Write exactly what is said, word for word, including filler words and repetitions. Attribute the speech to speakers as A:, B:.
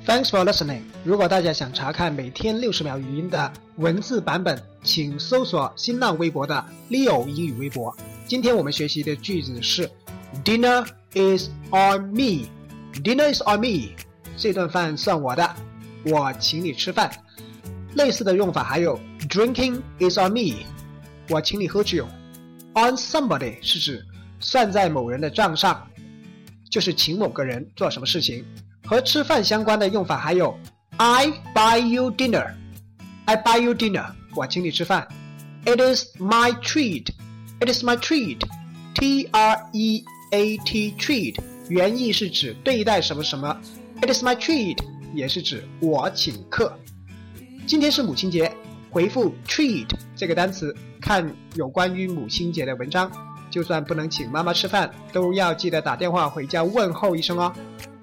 A: Thanks for listening. 如果大家想查看每天六十秒语音的文字版本，请搜索新浪微博的 Leo 英语微博。今天我们学习的句子是 Dinner is on me. Dinner is on me. 这顿饭算我的，我请你吃饭。类似的用法还有 Drinking is on me. 我请你喝酒。On somebody 是指算在某人的账上，就是请某个人做什么事情。和吃饭相关的用法还有 I buy you dinner. I buy you dinner. 我请你吃饭。It is my treat. It is my treat. T R E A T treat 原意是指对待什么什么。It is my treat 也是指我请客。今天是母亲节，回复 treat 这个单词看有关于母亲节的文章。就算不能请妈妈吃饭，都要记得打电话回家问候一声哦。